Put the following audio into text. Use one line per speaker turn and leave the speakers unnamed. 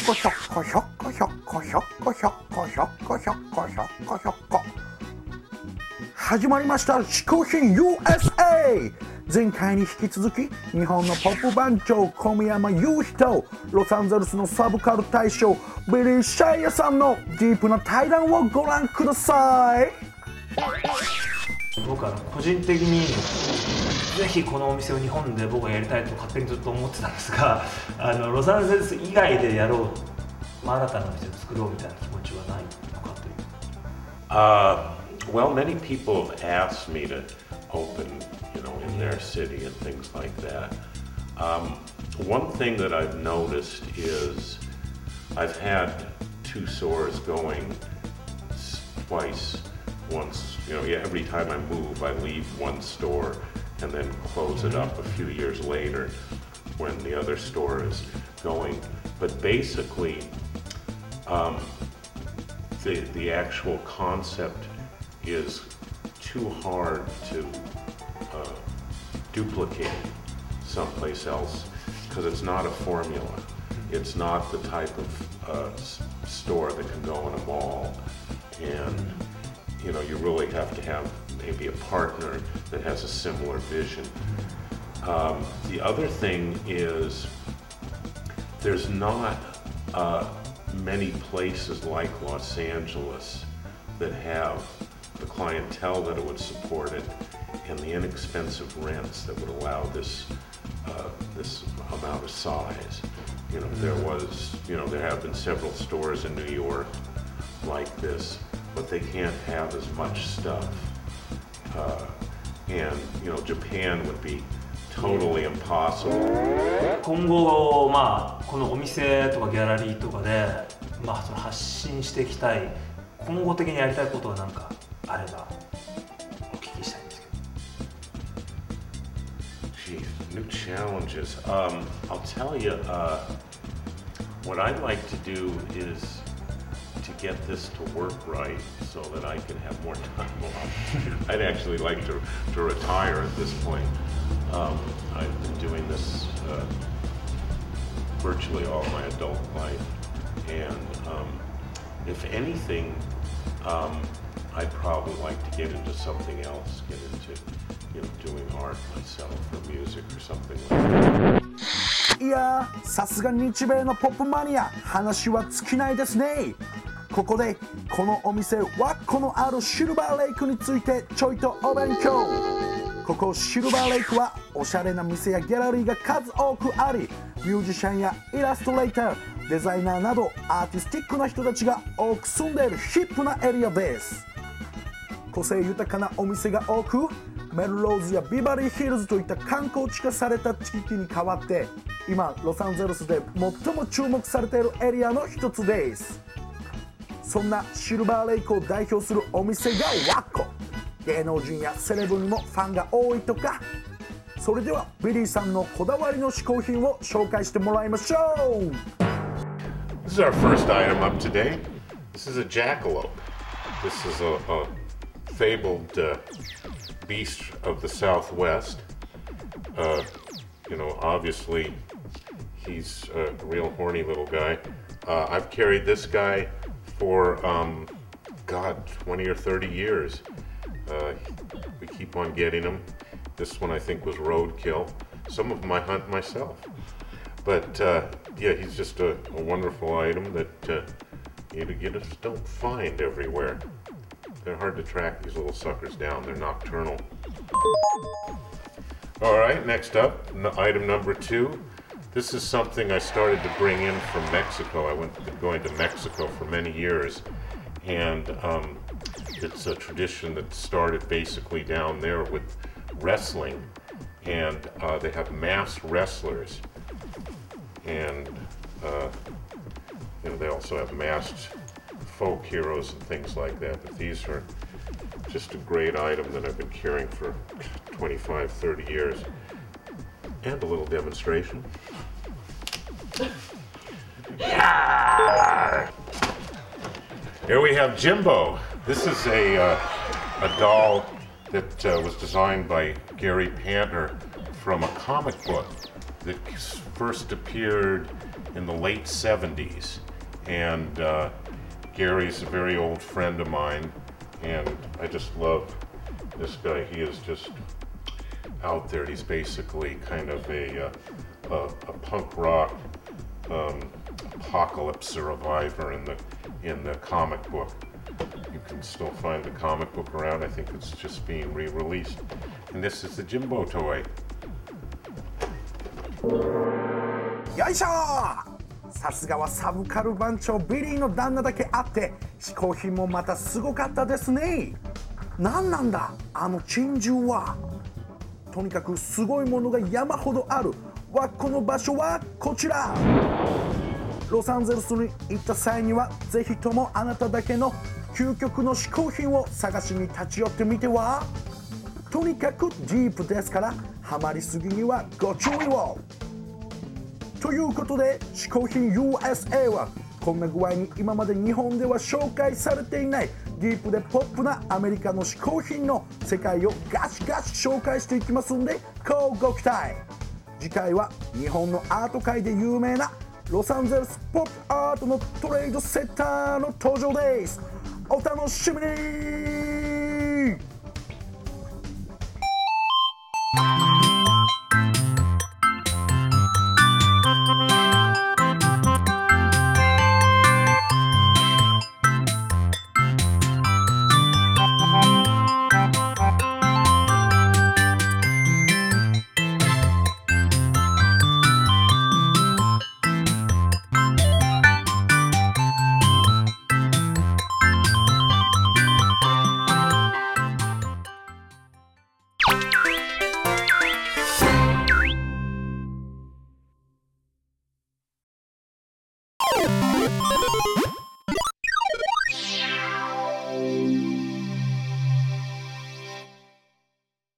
こひょっこひょっこひょっこひょっこひょっこひょっこひょっこひょっこひょっこ始まりました嗜好品 USA。 前回に引き続き日本のポップ番長小宮山雄飛とロサンゼルスのサブカル大将ビリー・シャイヤさんのディープな対談をご覧ください。
僕は個人的にぜひこのお店を日本で僕はやりたいと勝手にずっと思ってたんですが、ロサンゼルス以外でやろう、新たなお店を作ろうみたいな気持ちはないのかという。
Well, many people have asked me to open, in their city and things like that. One thing that I've noticed is I've had two stores going twice. Once, every time I move, I leave one store and then close it up a few years later when the other store is going. But basically, the actual concept is too hard to duplicate someplace else because it's not a formula. It's not the type of store that can go in a mall, and you really have to have maybe a partner that has a similar vision. The other thing is there's not many places like Los Angeles that have the clientele that it would support it and the inexpensive rents that would allow this amount of size. There have been several stores in New York like this, but they can't have as much stuff. And Japan would be totally impossible.
今後、このお店とかギャラリーとかで、その発信していきたい、今後的にやりたいことは何かあればお聞きしたいんですけど。
Geez, new challenges. I'll tell you, what I'd like to do is to get this to work right so that I can have more time off. I'd actually like to retire at this point. I've been doing this virtually all my adult life, and if anything, I'd probably like to get into something else, get into doing art myself or music or something like that.
いやー、さすが日米のポップマニア、話は尽きないですね。ここでこのお店ワッコのあるシルバーレイクについてちょいとお勉強。ここシルバーレイクはおしゃれな店やギャラリーが数多くあり、ミュージシャンやイラストレーター、デザイナーなどアーティスティックな人たちが多く住んでいるヒップなエリアです。個性豊かなお店が多く、メルローズやビバリーヒルズといった観光地化された地域に代わって、今ロサンゼルスで最も注目されているエリアの一つです。そんなシルバーレイクを代表するお店がワッコ。芸能人やセレブにもファンが多いとか。それではビリーさんのこだわりの嗜好品を紹介してもらいましょう。
This is our first item up today. This is a jackalope. This is a fabled beast of the Southwest. Obviously he's a real horny little guy. I've carried this guy for 20 or 30 years. We keep on getting them. This one I think was roadkill. Some of them I hunt myself. But he's just a wonderful item that you just don't find everywhere. They're hard to track these little suckers down. They're nocturnal. All right, next up, item number 2. This is something I started to bring in from Mexico. I've been going to Mexico for many years, and it's a tradition that started basically down there with wrestling, and they have masked wrestlers, and they also have masked folk heroes and things like that. But these are just a great item that I've been carrying for 25, 30 years. And a little demonstration. Yeah! Here we have Jimbo. This is a doll that was designed by Gary Panter from a comic book that first appeared in the late 70s, and Gary's a very old friend of mine, and I just love this guy. He is just out there. He's basically kind of a punk rock apocalypse survivor in the comic book. You can still find the comic book around. I think it's just being re-released. And this is the Jimbo toy.
よいしょー。さすがはサブカル番長ビリーの旦那だけあって嗜好品もまたすごかったですね。何なんだあの珍獣は。とにかくすごいものが山ほどあるわ。この場所はこちら。ロサンゼルスに行った際にはぜひともあなただけの究極の嗜好品を探しに立ち寄ってみては。とにかくディープですからハマりすぎにはご注意を。ということで嗜好品 USA はこんな具合に今まで日本では紹介されていないディープでポップなアメリカの嗜好品の世界をガシガシ紹介していきますんで乞うご期待。次回は日本のアート界で有名なロサンゼルスポップアートのトレードセッターの登場です。お楽しみに。